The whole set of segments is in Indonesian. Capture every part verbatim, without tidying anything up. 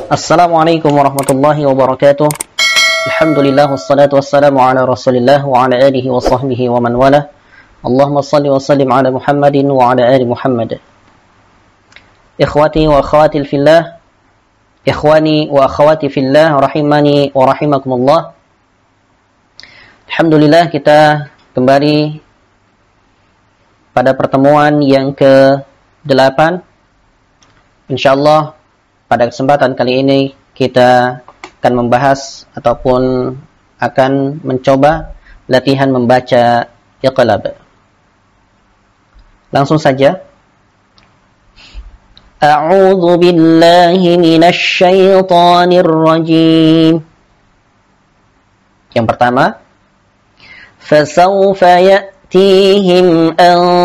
Assalamualaikum warahmatullahi wabarakatuh. Alhamdulillah wassalatu wassalamu ala Rasulillah wa ala alihi wa sahbihi wa man wala. Allahumma salli wa sallim ala Muhammadin wa ala ali Muhammad. Ikhwati wa akhwati fillah, ikhwani wa akhwati fillah rahimani wa rahimakumullah. Alhamdulillah, kita kembali pada pertemuan yang ke delapan. Insyaallah pada kesempatan kali ini kita akan membahas ataupun akan mencoba latihan membaca Iqlab. Langsung saja. A'udzu billahi minasy syaithanir rajim. Yang pertama, fasawfa ya'tihim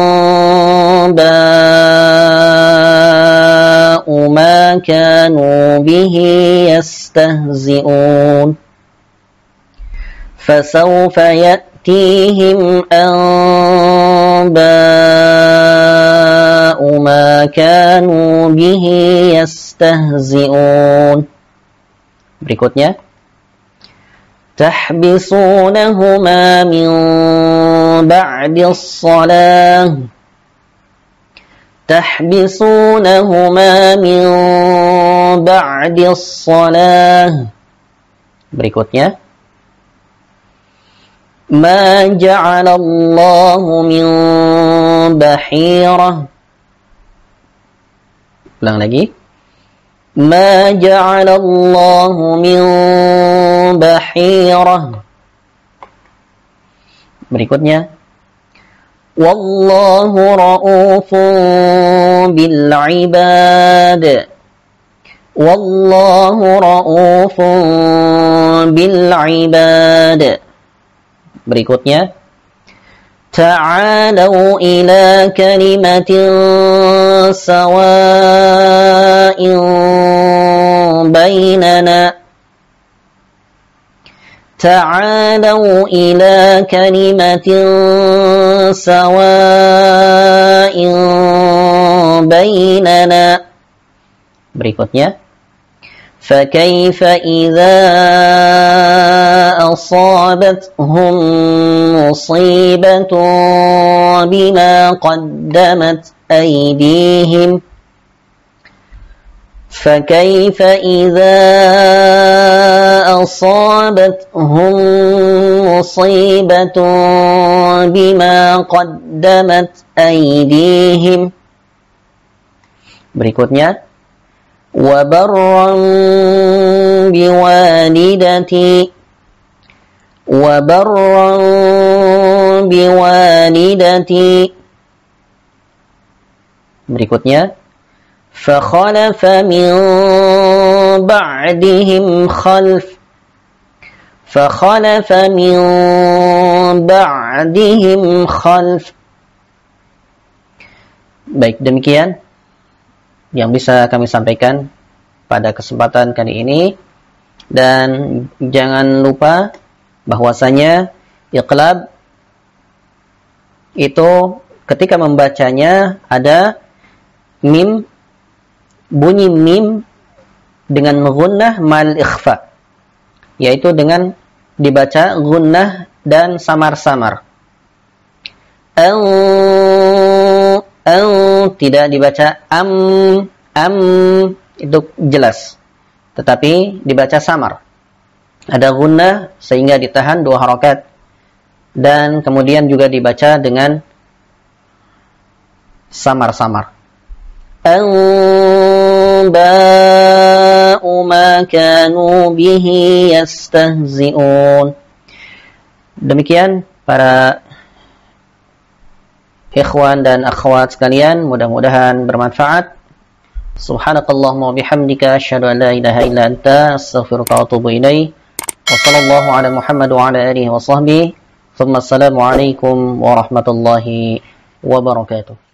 anba'u ma kanu bihi yastahzi'un. Fasawfa ya'tihim anba'u ma kanu bihi yastahzi'un. Berikutnya, tahbisunahuma min ba'di as-salah. Tahbisunahuma min ba'di as-salah. Berikutnya, ma ja'alallahu min bahirah. Ulang lagi. Ma ja'alallahu min bahirah. Berikutnya, wallahu ra'ufun bil ibad. Wallahu ra'ufun bil ibad. Berikutnya, ta'alau ila kalimatin sawa'in bainana. Ta'alau ila kalimatin sawa'in bainana. Berikutnya, فكيف إذا أصابتهم مصيبة بما قدمت أيديهم فكيف إذا أصابتهم مصيبة بما قدمت أيديهم. Berikutnya, وبرا بوالدتي وبرا بوالدتي. Berikutnya, فخلف من بعدهم خلف فخلف من بعدهم خلف. Baik, demikian yang bisa kami sampaikan pada kesempatan kali ini, dan jangan lupa bahwasanya Iqlab itu ketika membacanya ada mim, bunyi mim dengan gunnah mal ikhfa, yaitu dengan dibaca gunnah dan samar-samar. An An, tidak dibaca am, am itu jelas, tetapi dibaca samar. Ada gunnah sehingga ditahan dua harakat, dan kemudian juga dibaca dengan samar-samar. Anba'u ma kanu bihi yastahzi'un. Demikian para ikhwan dan akhwat sekalian, mudah-mudahan bermanfaat. Subhanakallahumma wa bihamdika asyhadu an la ilaha illa anta astaghfiruka wa atubu ilaik. Wa sallallahu ala Muhammad wa ala alihi wa sahbihi. Thumma assalamu alaikum warahmatullahi wabarakatuh.